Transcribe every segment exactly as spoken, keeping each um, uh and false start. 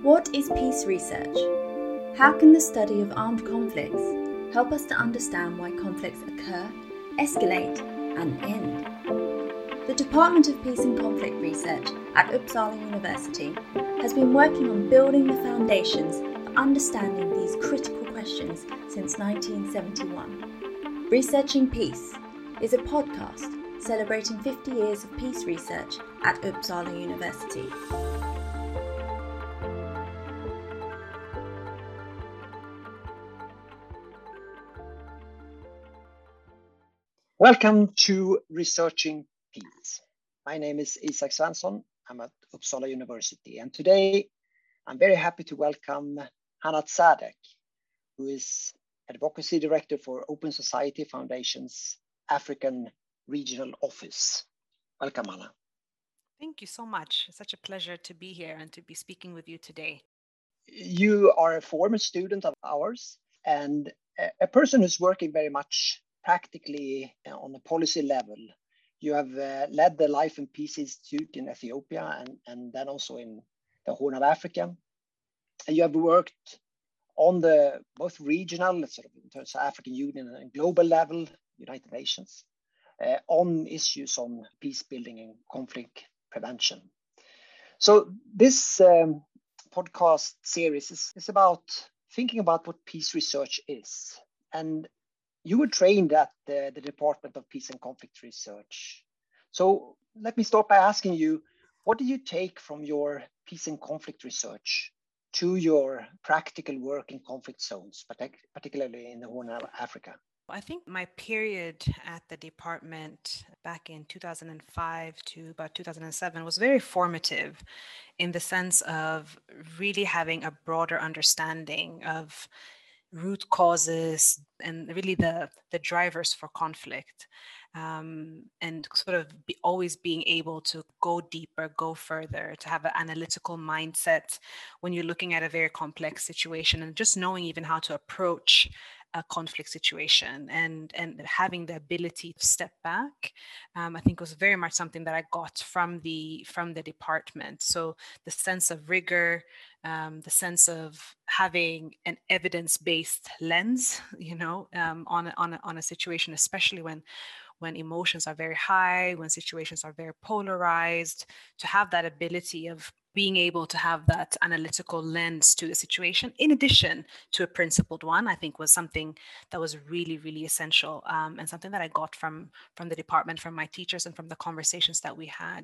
What is peace research? How can the study of armed conflicts help us to understand why conflicts occur, escalate, and end? The Department of Peace and Conflict Research at Uppsala University has been working on building the foundations for understanding these critical questions since nineteen seventy-one. Researching Peace is a podcast celebrating fifty years of peace research at Uppsala University. Welcome to Researching Peace. My name is Isak Svensson. I'm at Uppsala University, and today I'm very happy to welcome Hannah Tzadek, who is Advocacy Director for Open Society Foundation's African Regional Office. Welcome, Hannah. Thank you so much. It's such a pleasure to be here and to be speaking with you today. You are a former student of ours and a person who's working very much practically on a policy level. You have uh, led the Life and Peace Institute in Ethiopia and, and then also in the Horn of Africa. And you have worked on the both regional, sort of in terms of African Union and global level, United Nations, uh, on issues on peace building and conflict prevention. So this um, podcast series is, is about thinking about what peace research is. And you were trained at the, the Department of Peace and Conflict Research. So let me start by asking you, what did you take from your peace and conflict research to your practical work in conflict zones, particularly in the Horn of Africa? I think my period at the department back in two thousand five to about two thousand seven was very formative in the sense of really having a broader understanding of root causes and really the, the drivers for conflict, um, and sort of be always being able to go deeper, go further, to have an analytical mindset when you're looking at a very complex situation, and just knowing even how to approach a conflict situation and and having the ability to step back, um, I think was very much something that I got from the from the department. So the sense of rigor, um, the sense of having an evidence-based lens, you know, um, on a, on a, on a situation, especially when when emotions are very high, when situations are very polarized, to have that ability of being able to have that analytical lens to the situation, in addition to a principled one, I think was something that was really, really essential, um, and something that I got from from the department, from my teachers, and from the conversations that we had.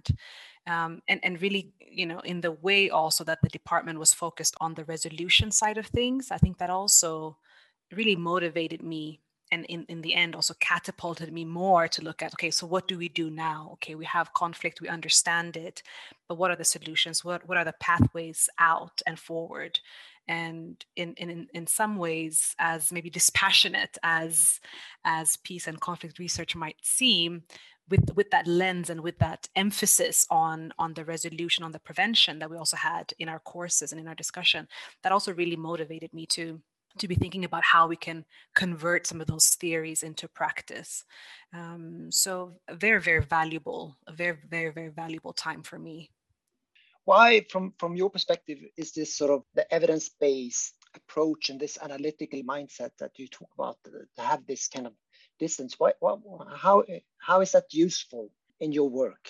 Um, and, and really, you know, in the way also that the department was focused on the resolution side of things, I think that also really motivated me, and in, in the end also catapulted me more to look at, okay, so what do we do now? Okay, we have conflict, we understand it, but what are the solutions? What what are the pathways out and forward? And in in in some ways, as maybe dispassionate as as peace and conflict research might seem, with with that lens and with that emphasis on on the resolution, on the prevention that we also had in our courses and in our discussion, that also really motivated me to to be thinking about how we can convert some of those theories into practice. Um, so a very, very valuable, a very, very, very valuable time for me. Why, from, from your perspective, is this sort of the evidence-based approach and this analytical mindset that you talk about to have this kind of distance? Why, why, how, how is that useful in your work?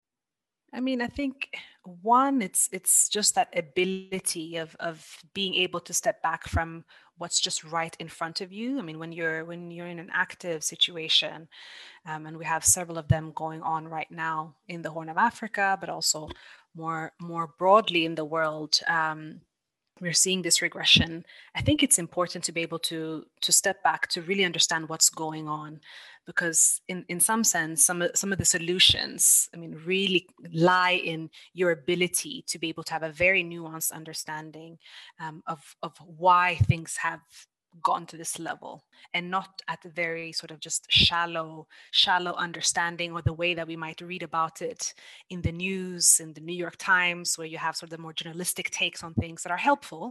I mean, I think one, it's it's just that ability of of being able to step back from what's just right in front of you. I mean, when you're when you're in an active situation, um, and we have several of them going on right now in the Horn of Africa, but also more more broadly in the world. Um, we're seeing this regression. I think it's important to be able to to step back to really understand what's going on, because in, in some sense, some of, some of the solutions, I mean, really lie in your ability to be able to have a very nuanced understanding, um, of, of why things have gotten to this level, and not at the very sort of just shallow shallow understanding, or the way that we might read about it in the news, in the New York Times, where you have sort of the more journalistic takes on things that are helpful,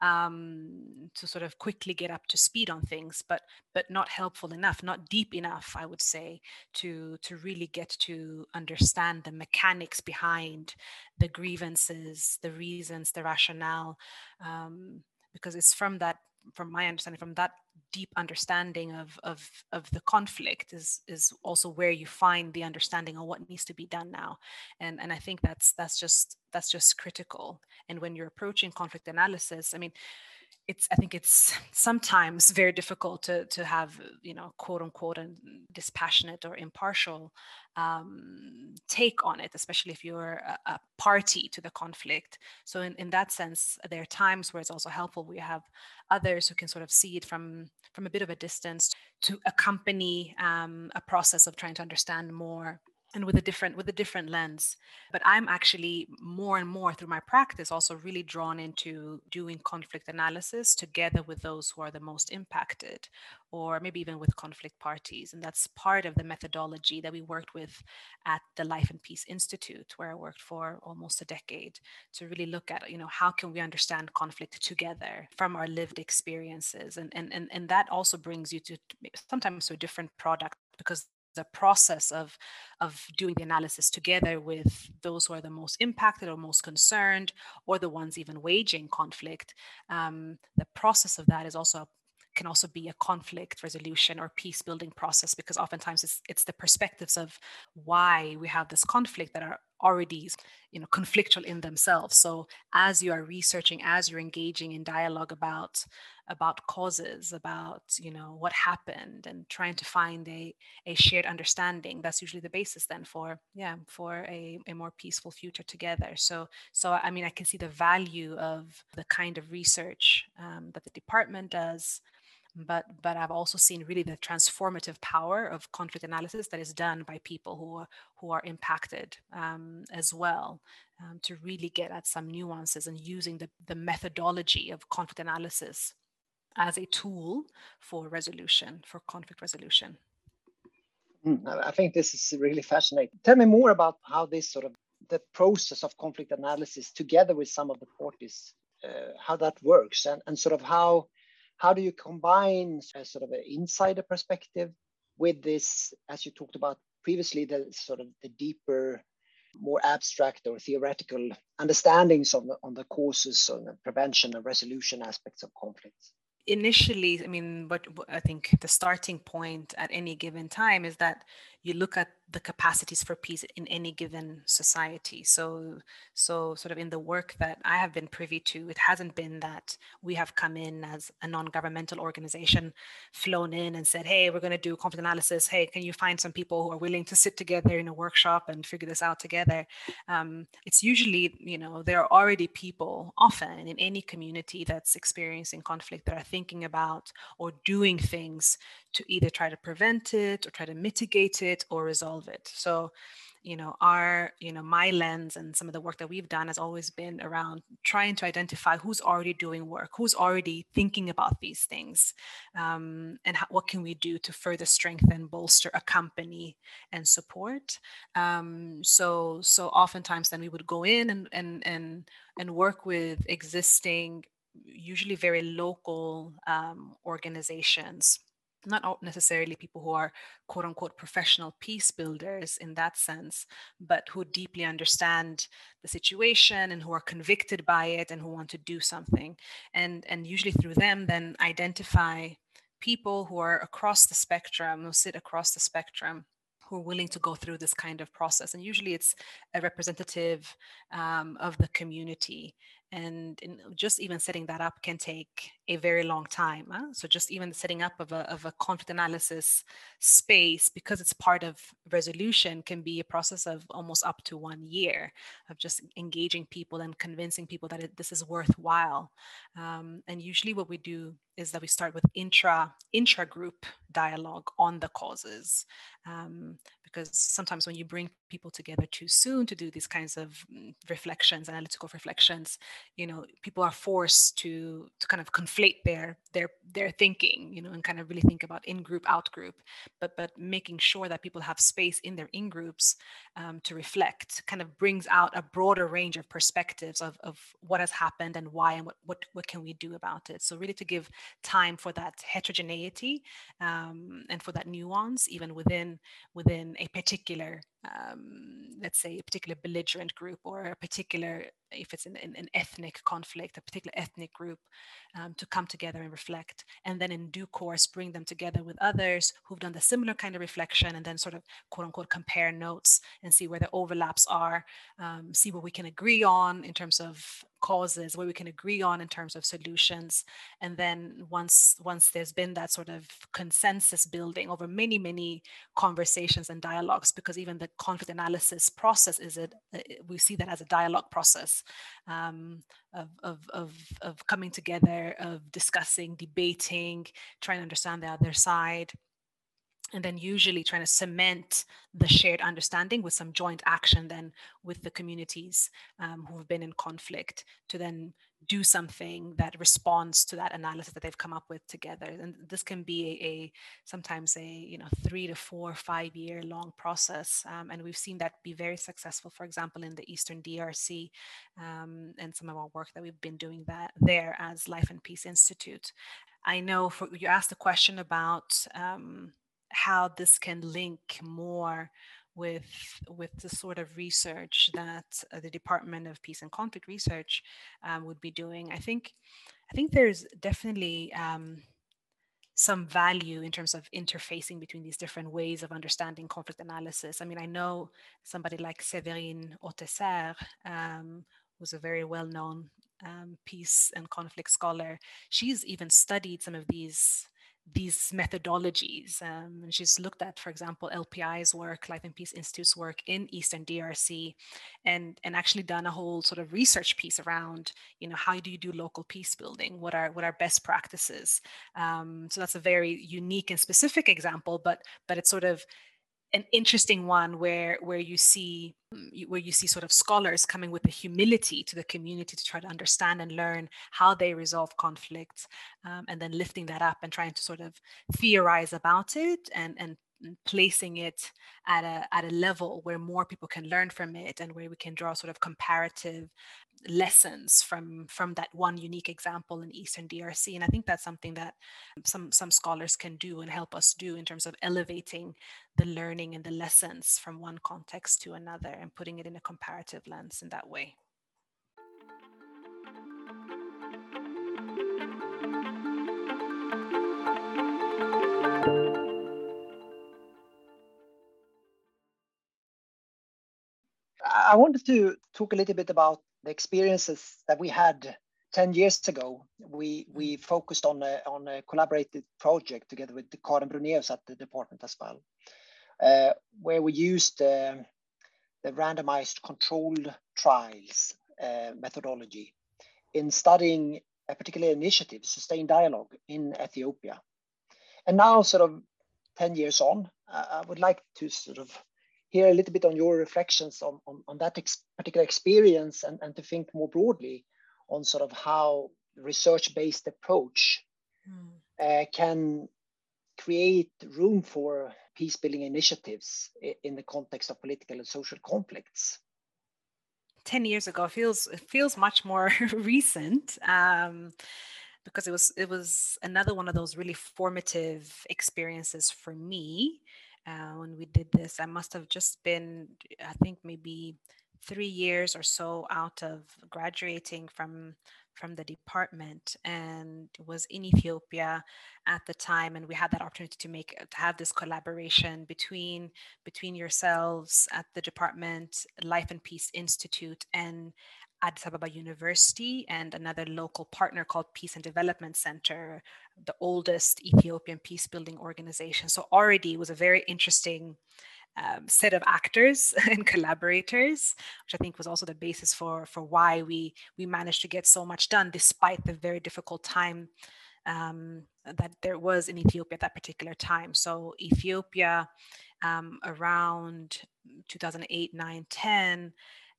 um, to sort of quickly get up to speed on things, but but not helpful enough, not deep enough, I would say, to to really get to understand the mechanics behind the grievances, the reasons, the rationale, um, because it's from that, from my understanding, from that deep understanding of of of the conflict is is also where you find the understanding of what needs to be done now. And and I think that's that's just that's just critical. And when you're approaching conflict analysis, I mean, it's I think it's sometimes very difficult to to have, you know, quote unquote, and dispassionate or impartial um, take on it, especially if you're a, a party to the conflict. So in, in that sense, there are times where it's also helpful. We have others who can sort of see it from from a bit of a distance, to accompany um, a process of trying to understand more, and with a different with a different lens. But I'm actually more and more through my practice also really drawn into doing conflict analysis together with those who are the most impacted, or maybe even with conflict parties. And that's part of the methodology that we worked with at the Life and Peace Institute, where I worked for almost a decade, to really look at, you know, how can we understand conflict together from our lived experiences. And and and, and that also brings you to sometimes to a different product, because the process of of doing the analysis together with those who are the most impacted or most concerned, or the ones even waging conflict, um, the process of that is also can also be a conflict resolution or peace building process, because oftentimes it's, it's the perspectives of why we have this conflict that are already, you know, conflictual in themselves. So as you are researching, as you're engaging in dialogue about about causes, about, you know, what happened, and trying to find a a shared understanding, that's usually the basis then for, yeah, for a, a more peaceful future together. So so I mean, I can see the value of the kind of research um, that the department does, but but I've also seen really the transformative power of conflict analysis that is done by people who are who are impacted um, as well, um, to really get at some nuances, and using the, the methodology of conflict analysis as a tool for resolution, for conflict resolution. Mm, I think this is really fascinating. Tell me more about how this sort of the process of conflict analysis together with some of the parties, uh, how that works, and, and sort of how how do you combine a sort of an insider perspective with this, as you talked about previously, the sort of the deeper, more abstract or theoretical understandings on the, on the causes, on the prevention and resolution aspects of conflicts? Initially, I mean, what I think the starting point at any given time is that you look at the capacities for peace in any given society. So, so sort of in the work that I have been privy to, it hasn't been that we have come in as a non-governmental organization, flown in and said, hey, we're going to do conflict analysis. Hey, can you find some people who are willing to sit together in a workshop and figure this out together? Um, it's usually, you know, there are already people often in any community that's experiencing conflict that are thinking about or doing things to either try to prevent it or try to mitigate it or resolve it. So, you know, our, you know, my lens and some of the work that we've done has always been around trying to identify who's already doing work, who's already thinking about these things, um, and how, what can we do to further strengthen, bolster, accompany, and support. Um, so, so oftentimes then we would go in and and and and work with existing, usually very local um, organizations, not necessarily people who are quote unquote professional peace builders in that sense, but who deeply understand the situation and who are convicted by it and who want to do something. And, and usually through them, then identify people who are across the spectrum, who sit across the spectrum, who are willing to go through this kind of process. And usually it's a representative um, of the community. And in just even setting that up can take a very long time. Huh? So just even the setting up of a, of a conflict analysis space, because it's part of resolution, can be a process of almost up to one year of just engaging people and convincing people that it, this is worthwhile. Um, and usually what we do is that we start with intra intra group dialogue on the causes. Um, because sometimes when you bring people together too soon to do these kinds of reflections, analytical reflections, you know, people are forced to to kind of conflate their their their thinking, you know, and kind of really think about in group, out group, but but making sure that people have space in their in groups um, to reflect, kind of brings out a broader range of perspectives of, of what has happened and why, and what, what what can we do about it. So really to give time for that heterogeneity um, and for that nuance, even within within a particular, um, let's say, a particular belligerent group, or a particular, if it's an, an ethnic conflict, a particular ethnic group, um, to come together and reflect, and then in due course bring them together with others who've done the similar kind of reflection, and then sort of quote unquote compare notes and see where the overlaps are, um, see what we can agree on in terms of causes, where we can agree on in terms of solutions. And then once once there's been that sort of consensus building over many, many conversations and dialogues, because even the conflict analysis process is it, we see that as a dialogue process, um, of, of, of, of coming together, of discussing, debating, trying to understand the other side, and then usually trying to cement the shared understanding with some joint action then with the communities um, who have been in conflict, to then do something that responds to that analysis that they've come up with together. And this can be a, a sometimes a you know three to four, five year long process, um, and we've seen that be very successful. For example, in the Eastern D R C, um, and some of our work that we've been doing that there as Life and Peace Institute. I know for, you asked a question about um, how this can link more with with the sort of research that uh, the Department of Peace and Conflict Research um, would be doing. I think I think there's definitely um, some value in terms of interfacing between these different ways of understanding conflict analysis. I mean, I know somebody like Séverine Autesserre, um, who's a very well-known um, peace and conflict scholar. She's even studied some of these these methodologies. Um, and she's looked at, for example, L P I's work, Life and Peace Institute's work in Eastern D R C, and, and actually done a whole sort of research piece around, you know, how do you do local peace building? What are what are best practices? Um, so that's a very unique and specific example, but but it's sort of an interesting one where where you see where you see sort of scholars coming with the humility to the community to try to understand and learn how they resolve conflicts, um, and then lifting that up and trying to sort of theorize about it, and and placing it at a at a level where more people can learn from it, and where we can draw sort of comparative lessons from from that one unique example in Eastern D R C. And I think that's something that some some scholars can do and help us do in terms of elevating the learning and the lessons from one context to another and putting it in a comparative lens in that way. I wanted to talk a little bit about the experiences that we had ten years ago. We we focused on a, on a collaborated project together with Karen Bruneus at the department as well, uh, where we used uh, the randomized controlled trials uh, methodology in studying a particular initiative, Sustained Dialogue, in Ethiopia. And now, sort of ten years on, uh, I would like to sort of hear a little bit on your reflections on, on, on that ex particular experience, and, and to think more broadly on sort of how research-based approach mm. uh, can create room for peace-building initiatives in the context of political and social conflicts. ten years ago feels it feels much more recent, um, because it was it was another one of those really formative experiences for me. Uh, when we did this, I must have just been, I think, maybe three years or so out of graduating from from the department, and was in Ethiopia at the time. And we had that opportunity to make to have this collaboration between between yourselves at the department, Life and Peace Institute, and Addis Ababa University, and another local partner called Peace and Development Center, the oldest Ethiopian peace building organization. So already it was a very interesting um, set of actors and collaborators, which I think was also the basis for for why we we managed to get so much done despite the very difficult time um, that there was in Ethiopia at that particular time. So Ethiopia, um, around two thousand eight, nine, ten,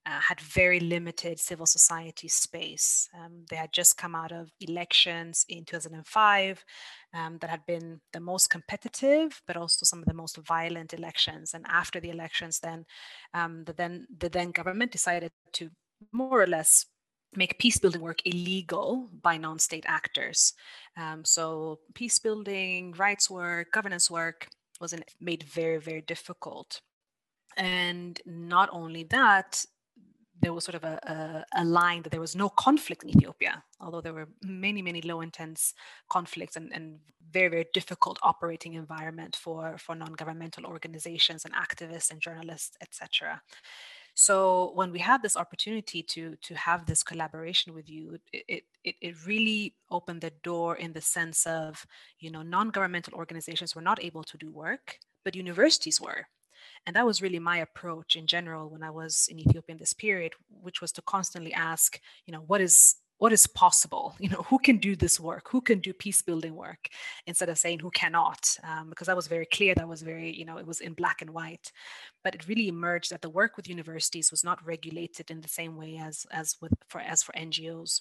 uh, had very limited civil society space. Um, they had just come out of elections in two thousand five um, that had been the most competitive, but also some of the most violent elections. And after the elections, then um, the then the then government decided to more or less make peace building work illegal by non-state actors. Um, so peace building, rights work, governance work was in, made very, very difficult. And not only that, there was sort of a, a, a line that there was no conflict in Ethiopia, although there were many, many low intense conflicts and, and very, very difficult operating environment for, for non-governmental organizations and activists and journalists, et cetera. So when we had this opportunity to, to have this collaboration with you, it, it, it really opened the door in the sense of, you know, non-governmental organizations were not able to do work, but universities were. And that was really my approach in general when I was in Ethiopia in this period, which was to constantly ask, you know, what is what is possible? You know, who can do this work? Who can do peace building work? Instead of saying who cannot, um, because that was very clear. That was very, you know, it was in black and white. But it really emerged that the work with universities was not regulated in the same way as as with for as for N G Os.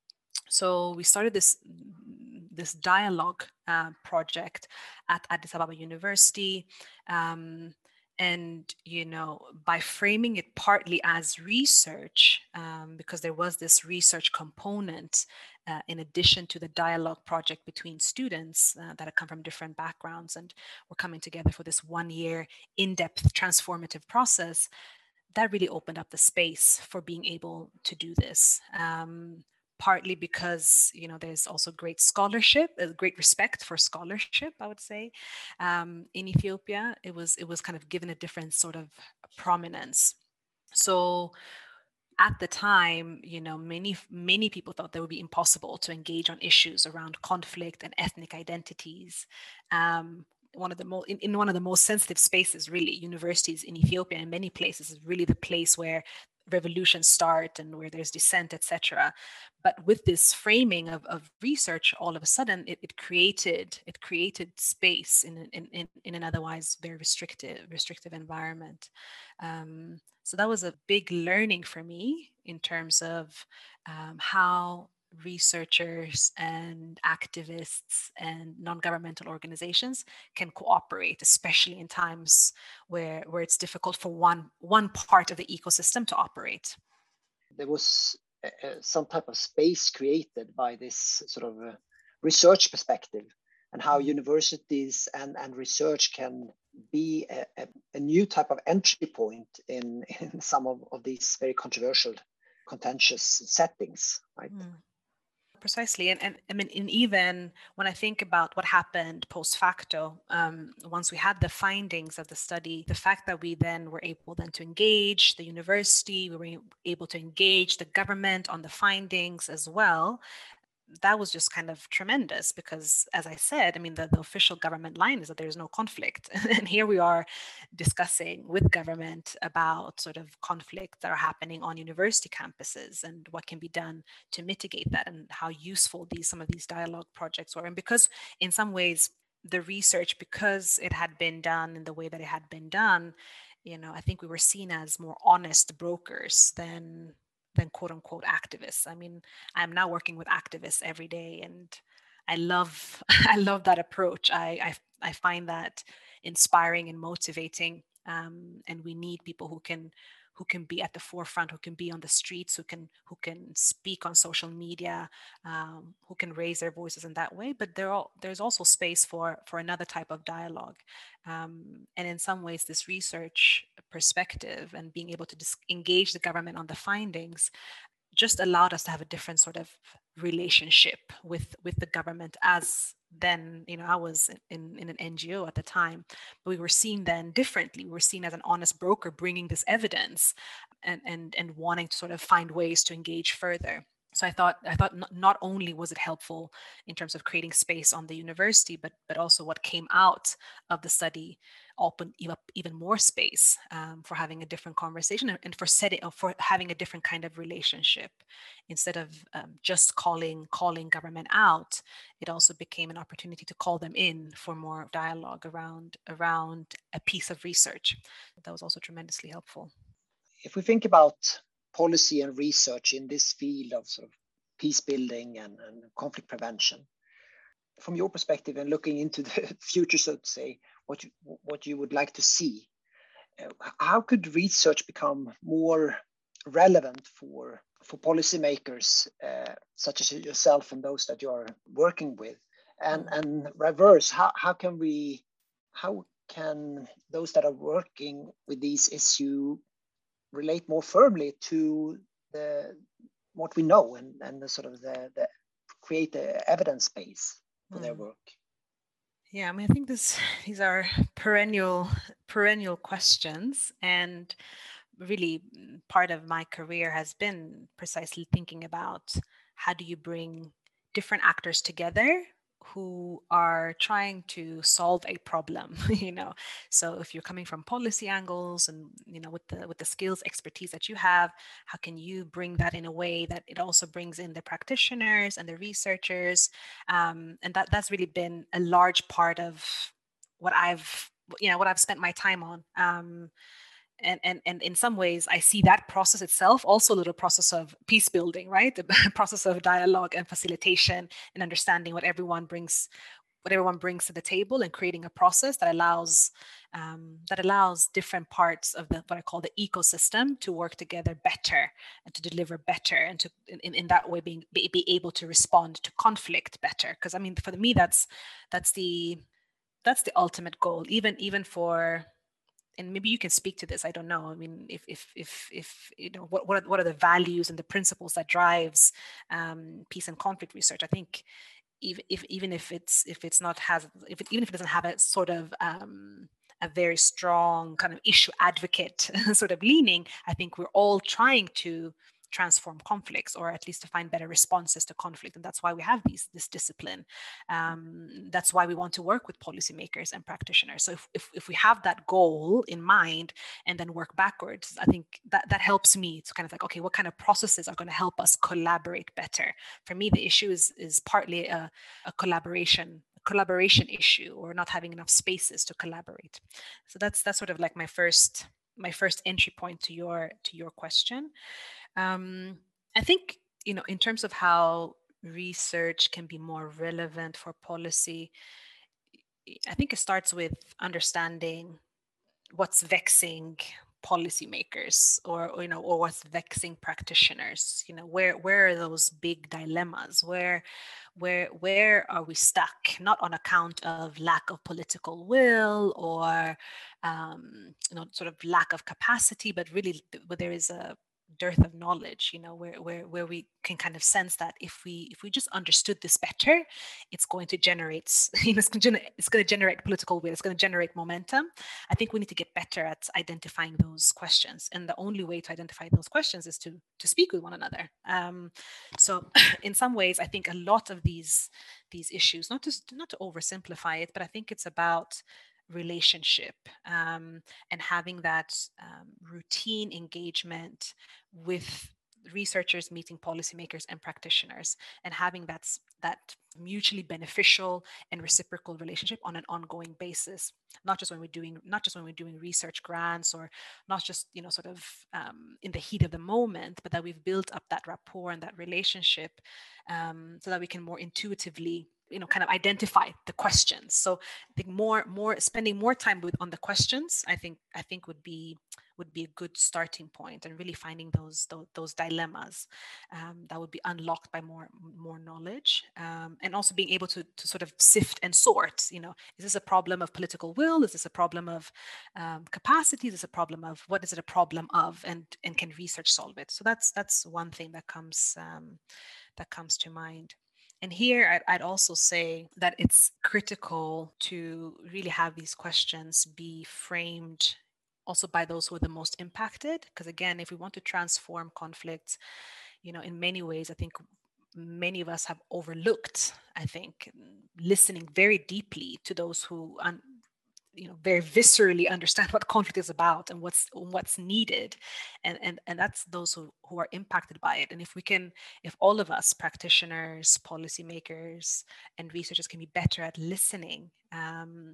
So we started this this dialogue uh, project at Addis Ababa University. Um, and, you know, by framing it partly as research, um, because there was this research component uh, in addition to the dialogue project between students uh, that had come from different backgrounds and were coming together for this one year in-depth transformative process, that really opened up the space for being able to do this. Um, partly because, you know, there's also great scholarship, a great respect for scholarship, I would say. Um, in Ethiopia, it was it was kind of given a different sort of prominence. So at the time, you know, many many people thought that would be impossible to engage on issues around conflict and ethnic identities. Um, one of the most in, in one of the most sensitive spaces, really, universities in Ethiopia in many places is really the place where revolutions start and where there's dissent, et cetera. But with this framing of, of research, all of a sudden it, it created it created space in, in, in, in an otherwise very restrictive restrictive environment. Um, so that was a big learning for me in terms of um, how researchers and activists and non-governmental organizations can cooperate, especially in times where, where it's difficult for one, one part of the ecosystem to operate. There was uh, some type of space created by this sort of uh, research perspective, and how universities and, and research can be a, a, a new type of entry point in, in some of, of these very controversial, contentious settings, right? Mm. Precisely. And, and I mean, and even when I think about what happened post facto, um, once we had the findings of the study, the fact that we then were able then to engage the university, we were able to engage the government on the findings as well, that was just kind of tremendous because, as I said, I mean, the, the official government line is that there's no conflict. And here we are discussing with government about sort of conflicts that are happening on university campuses and what can be done to mitigate that and how useful these some of these dialogue projects were. And because in some ways, the research, because it had been done in the way that it had been done, you know, I think we were seen as more honest brokers than than quote unquote activists. I mean, I'm now working with activists every day, and I love I love that approach. I I, I find that inspiring and motivating. Um, and we need people who can who can be at the forefront, who can be on the streets, who can who can speak on social media, um, who can raise their voices in that way. But there are, there's also space for for another type of dialogue. Um, and in some ways, this research perspective and being able to dis- engage the government on the findings just allowed us to have a different sort of relationship with with the government. As then, you know, I was in, in an N G O at the time, but we were seen then differently. We were seen as an honest broker bringing this evidence and and and wanting to sort of find ways to engage further. So I thought I thought not, not only was it helpful in terms of creating space on the university, but but also what came out of the study opened even more space um, for having a different conversation and for setting for having a different kind of relationship. Instead of um, just calling calling government out, it also became an opportunity to call them in for more dialogue around around a piece of research. That was also tremendously helpful. If we think about policy and research in this field of sort of peace building and, and conflict prevention. From your perspective and looking into the future, so to say, what you, what you would like to see, uh, how could research become more relevant for, for policymakers, uh, such as yourself and those that you are working with? And, and reverse, how, how can we, how can those that are working with these issues relate more firmly to the what we know and, and the sort of the, the create the evidence base for mm. their work? Yeah, I mean, I think this these are perennial perennial questions, and really part of my career has been precisely thinking about how do you bring different actors together who are trying to solve a problem, you know. So if you're coming from policy angles and, you know, with the with the skills, expertise that you have, how can you bring that in a way that it also brings in the practitioners and the researchers? Um, and that that's really been a large part of what I've, you know, what I've spent my time on. Um, And, and, and in some ways, I see that process itself also a little process of peace building, right? The process of dialogue and facilitation and understanding what everyone brings, what everyone brings to the table, and creating a process that allows um, that allows different parts of the what I call the ecosystem to work together better and to deliver better, and to in, in that way being be, be able to respond to conflict better. Because I mean, for me, that's that's the that's the ultimate goal, even even for. And maybe you can speak to this. I don't know. I mean, if if if if you know what what are, what are the values and the principles that drives um, peace and conflict research? I think even if even if it's if it's not has if it, even if it doesn't have a sort of um, a very strong kind of issue advocate sort of leaning, I think we're all trying to transform conflicts, or at least to find better responses to conflict. And that's why we have these this discipline. Um, that's why we want to work with policymakers and practitioners. So if, if, if we have that goal in mind and then work backwards, I think that, that helps me to kind of like, okay, what kind of processes are going to help us collaborate better? For me, the issue is, is partly a, a collaboration collaboration issue, or not having enough spaces to collaborate. So that's that's sort of like my first my first entry point to your to your question. Um, I think, you know, in terms of how research can be more relevant for policy, I think it starts with understanding what's vexing policymakers, or, or you know, or what's vexing practitioners. You know, where where are those big dilemmas? Where where where are we stuck? Not on account of lack of political will or um, you know, sort of lack of capacity, but really where there is a dearth of knowledge, you know, where where where we can kind of sense that if we if we just understood this better, it's going to generate, you know, it's going to, it's going to generate political will, it's going to generate momentum. I think we need to get better at identifying those questions, and the only way to identify those questions is to to speak with one another. Um, so, in some ways, I think a lot of these these issues, not to not to oversimplify it, but I think it's about relationship um, and having that um, routine engagement with researchers meeting policymakers and practitioners, and having that that mutually beneficial and reciprocal relationship on an ongoing basis, not just when we're doing not just when we're doing research grants, or not just, you know, sort of um, in the heat of the moment, but that we've built up that rapport and that relationship um, so that we can more intuitively, you know, kind of identify the questions. So I think more more spending more time with on the questions, I think I think would be would be a good starting point, and really finding those those, those dilemmas um, that would be unlocked by more more knowledge, um, and also being able to to sort of sift and sort. You know, is this a problem of political will? Is this a problem of um, capacity? Is this a problem of what is it a problem of? And and can research solve it? So that's that's one thing that comes um, that comes to mind. And here I'd, I'd also say that it's critical to really have these questions be framed also by those who are the most impacted. Because again, if we want to transform conflicts, you know, in many ways, I think many of us have overlooked, I think, listening very deeply to those who un- you know, very viscerally understand what conflict is about and what's what's needed, and and and that's those who, who are impacted by it. And if we can, if all of us, practitioners, policymakers, and researchers, can be better at listening, um,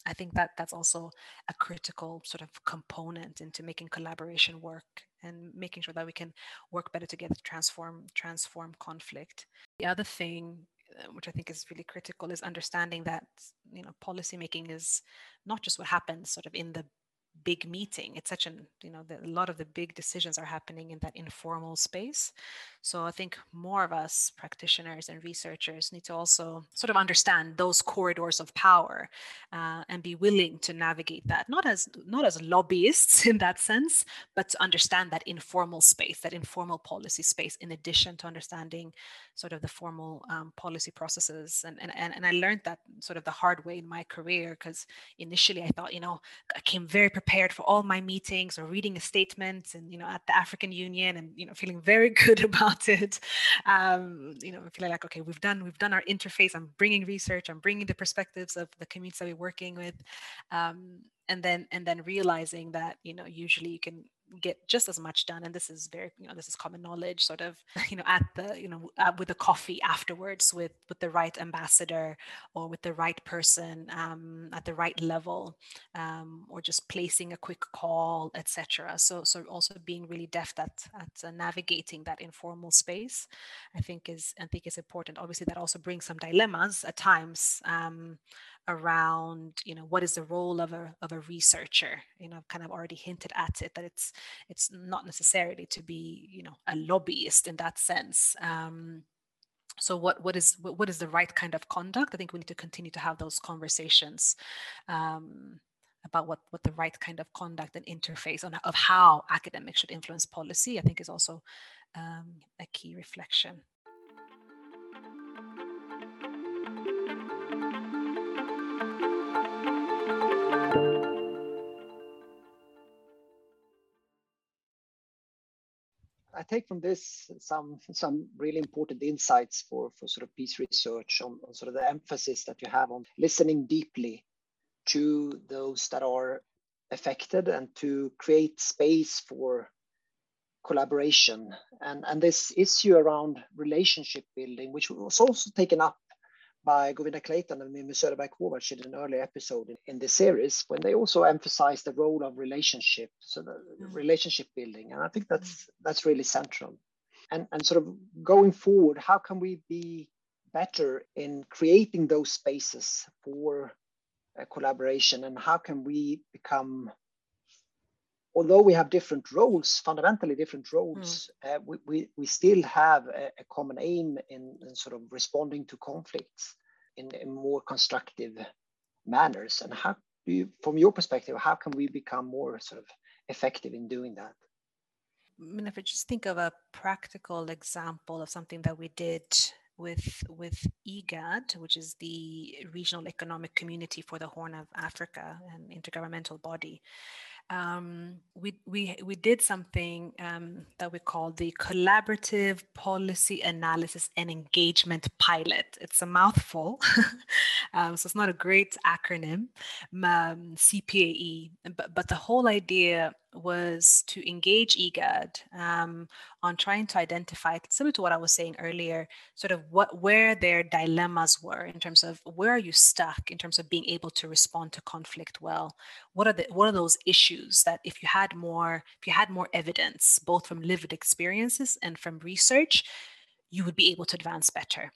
I think that that's also a critical sort of component into making collaboration work and making sure that we can work better together to transform transform conflict. The other thing, uh, which I think is really critical, is understanding that, you know, policymaking is not just what happens sort of in the big meeting. It's such an, you know, the, a lot of the big decisions are happening in that informal space. So I think more of us practitioners and researchers need to also sort of understand those corridors of power, uh, and be willing to navigate that, not as not as lobbyists in that sense, but to understand that informal space, that informal policy space, in addition to understanding sort of the formal um, policy processes. And, and, and I learned that sort of the hard way in my career, because initially I thought, you know, I came very prepared for all my meetings or reading a statement and, you know, at the African Union and, you know, feeling very good about it. Um, you know, feeling like, okay, we've done, we've done our interface. I'm bringing research, I'm bringing the perspectives of the communities that we're working with. Um, and then, and then realizing that, you know, usually you can get just as much done, and this is very, you know, this is common knowledge, sort of, you know, at the, you know, uh, with a coffee afterwards with with the right ambassador or with the right person, um, at the right level, um, or just placing a quick call, etc. So so also being really deft at at uh, navigating that informal space, I think is I think is important. Obviously that also brings some dilemmas at times, um, around, you know, what is the role of a of a researcher. You know, I've kind of already hinted at it, that it's it's not necessarily to be, you know, a lobbyist in that sense. Um, so what what is what is the right kind of conduct? I think we need to continue to have those conversations, um, about what what the right kind of conduct and interface on of how academics should influence policy, I think is also um, a key reflection. I take from this some some really important insights for, for sort of peace research on, on sort of the emphasis that you have on listening deeply to those that are affected and to create space for collaboration. And, and this issue around relationship building, which was also taken up by Govinda Clayton and Mimi Söderberg-Kovacs in an earlier episode in, in this series, when they also emphasized the role of relationship, so the mm. relationship building. And I think that's that's really central. And, and sort of going forward, how can we be better in creating those spaces for uh, collaboration, and how can we become, although we have different roles, fundamentally different roles, mm. uh, we, we, we still have a, a common aim in, in sort of responding to conflicts in, in more constructive manners. And how do you, from your perspective, how can we become more sort of effective in doing that? I mean, if I just think of a practical example of something that we did with with IGAD, which is the Regional Economic Community for the Horn of Africa, an intergovernmental body. Um, we, we, we did something um, that we call the Collaborative Policy Analysis and Engagement Pilot. It's a mouthful, um, so it's not a great acronym, um, C P A E, but, but the whole idea was to engage IGAD um, on trying to identify, similar to what I was saying earlier, sort of what where their dilemmas were in terms of where are you stuck in terms of being able to respond to conflict well. What are the what are those issues that if you had more if you had more evidence, both from lived experiences and from research, you would be able to advance better.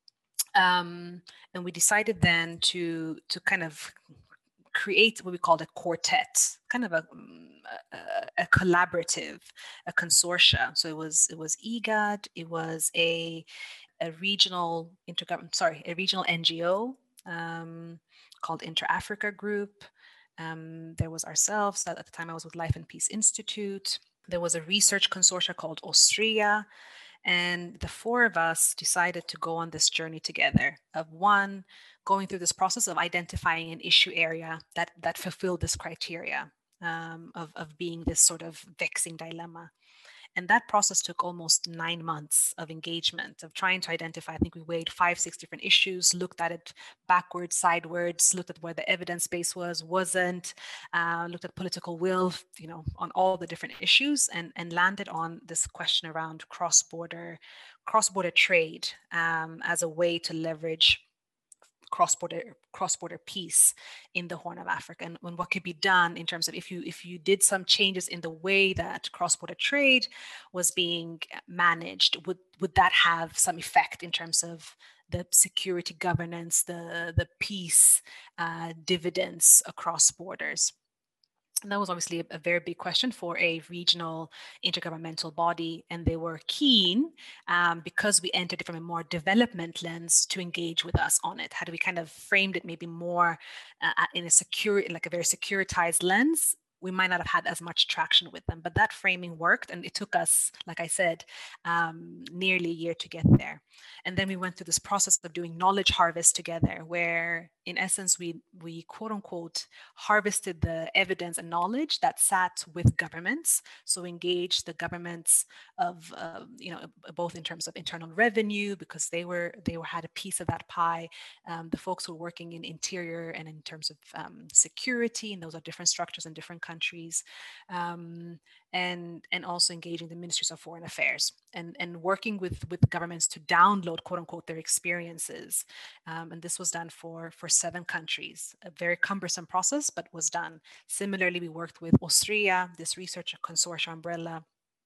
Um, and we decided then to to kind of create what we called a quartet, kind of a, a, a collaborative, a consortia. So it was it was IGAD, it was a a regional intergovernment, sorry, a regional N G O um, called Inter-Africa Group. Um, there was ourselves. At the time I was with Life and Peace Institute. There was a research consortia called Austria. And the four of us decided to go on this journey together of one, going through this process of identifying an issue area that, that fulfilled this criteria um, of, of being this sort of vexing dilemma. And that process took almost nine months of engagement, of trying to identify. I think we weighed five, six different issues, looked at it backwards, sidewards, looked at where the evidence base was, wasn't, uh, looked at political will, you know, on all the different issues, and, and landed on this question around cross-border, cross-border trade um, as a way to leverage cross-border cross-border peace in the Horn of Africa, and, and what could be done in terms of if you if you did some changes in the way that cross-border trade was being managed, would would that have some effect in terms of the security governance, the the peace uh, dividends across borders? And that was obviously a, a very big question for a regional intergovernmental body. And they were keen, um, because we entered it from a more development lens, to engage with us on it. Had we kind of framed it maybe more uh, in a secure, like a very securitized lens, we might not have had as much traction with them. But that framing worked, and it took us, like I said, um, nearly a year to get there. And then we went through this process of doing knowledge harvest together, where in essence, we, we quote unquote harvested the evidence and knowledge that sat with governments. So engaged the governments of, uh, you know, both in terms of internal revenue, because they were, they were had a piece of that pie. Um, the folks who were working in interior and in terms of um, security, and those are different structures in different countries. Um, and and also engaging the ministries of foreign affairs, and and working with with governments to download, quote unquote, their experiences. Um, and this was done for for seven countries, a very cumbersome process, but was done. Similarly, we worked with Austria, this research consortium umbrella,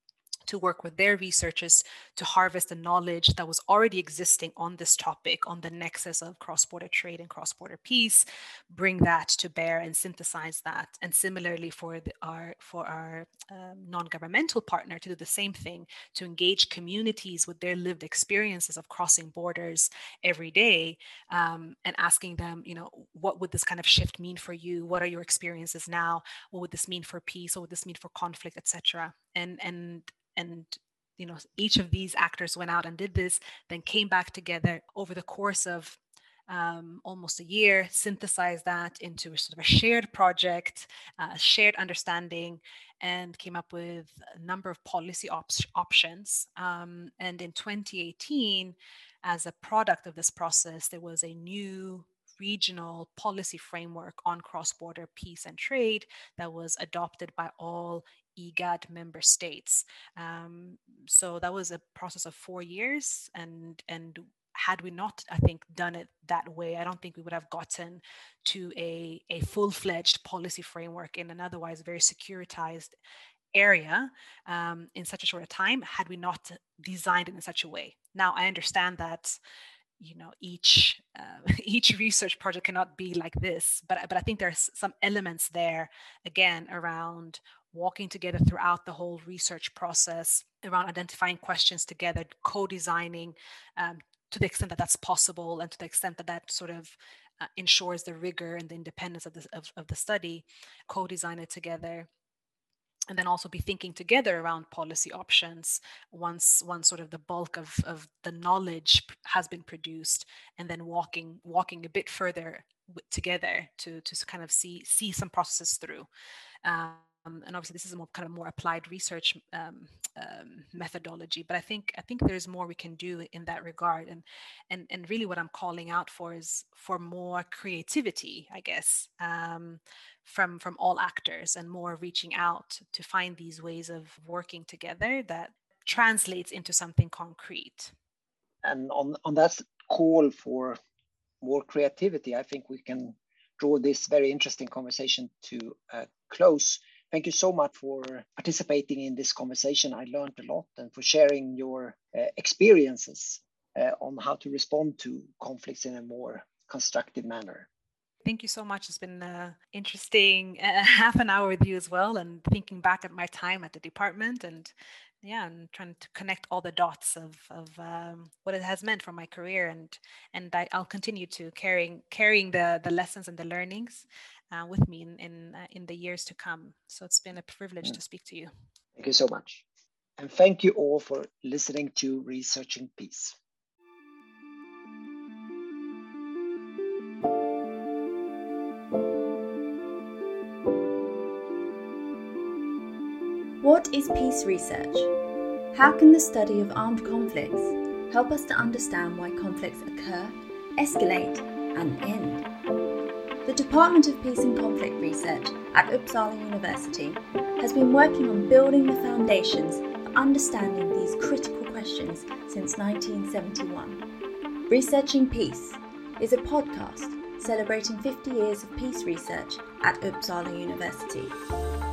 to work with their researchers to harvest the knowledge that was already existing on this topic, on the nexus of cross-border trade and cross-border peace, bring that to bear and synthesize that. And similarly for the, our for our um, non-governmental partner to do the same thing, to engage communities with their lived experiences of crossing borders every day, um, and asking them, you know, what would this kind of shift mean for you? What are your experiences now? What would this mean for peace? What would this mean for conflict, et cetera? And and And, you know, each of these actors went out and did this, then came back together over the course of um, almost a year, synthesized that into a sort of a shared project, uh, shared understanding, and came up with a number of policy op- options. Um, and in twenty eighteen, as a product of this process, there was a new regional policy framework on cross-border peace and trade that was adopted by all IGAD member states. Um, so that was a process of four years. And, and had we not, I think, done it that way, I don't think we would have gotten to a, a full-fledged policy framework in an otherwise very securitized area um, in such a short a time, had we not designed it in such a way. Now, I understand that, you know, each uh, each research project cannot be like this, but but I think there's some elements there, again, around walking together throughout the whole research process, around identifying questions together, co-designing um, to the extent that that's possible, and to the extent that that sort of uh, ensures the rigor and the independence of the of, of the study, co-design it together. And then also be thinking together around policy options once once sort of the bulk of, of the knowledge has been produced, and then walking walking a bit further w- together to to kind of see see some processes through. Um, and obviously, this is a more kind of more applied research um, um, methodology. But I think I think there's more we can do in that regard. And and and really, what I'm calling out for is for more creativity, I guess. Um, from from all actors, and more reaching out to find these ways of working together that translates into something concrete. And on, on that call for more creativity, I think we can draw this very interesting conversation to a close. Thank you so much for participating in this conversation. I learned a lot, and for sharing your uh, experiences uh, on how to respond to conflicts in a more constructive manner. Thank you so much. It's been an interesting uh, half an hour with you as well, and thinking back at my time at the department, and yeah, and trying to connect all the dots of, of um, what it has meant for my career, and and I, I'll continue to carrying carrying the the lessons and the learnings uh, with me in in, uh, in the years to come. So it's been a privilege mm. to speak to you. Thank you so much, and thank you all for listening to Researching Peace. What is peace research? How can the study of armed conflicts help us to understand why conflicts occur, escalate, and end? The Department of Peace and Conflict Research at Uppsala University has been working on building the foundations for understanding these critical questions since nineteen seventy-one. Researching Peace, is a podcast celebrating fifty years of peace research at Uppsala University.